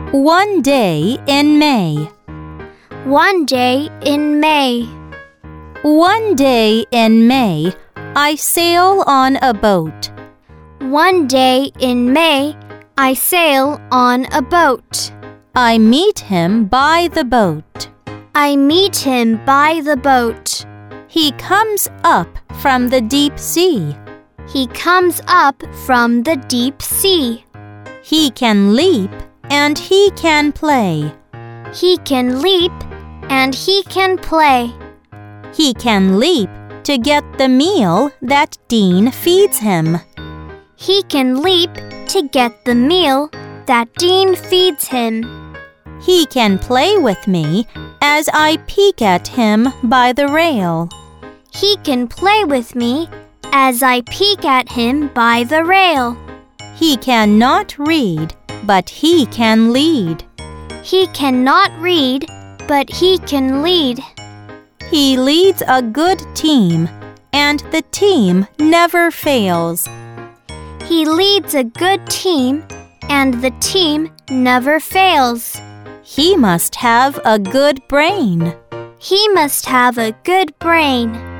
One day in May. One day in May. One day in May, I sail on a boat. One day in May, I sail on a boat. I meet him by the boat. I meet him by the boat. He comes up from the deep sea. He comes up from the deep sea. He can leap and he can play. He can leap and he can play. He can leap to get the meal that Dean feeds him. He can leap to get the meal that Dean feeds him. He can play with me as I peek at him by the rail. He can play with me as I peek at him by the rail. He cannot read, but he can lead. He cannot read, but he can lead. He leads a good team, and the team never fails. He leads a good team, and the team never fails. He must have a good brain. He must have a good brain.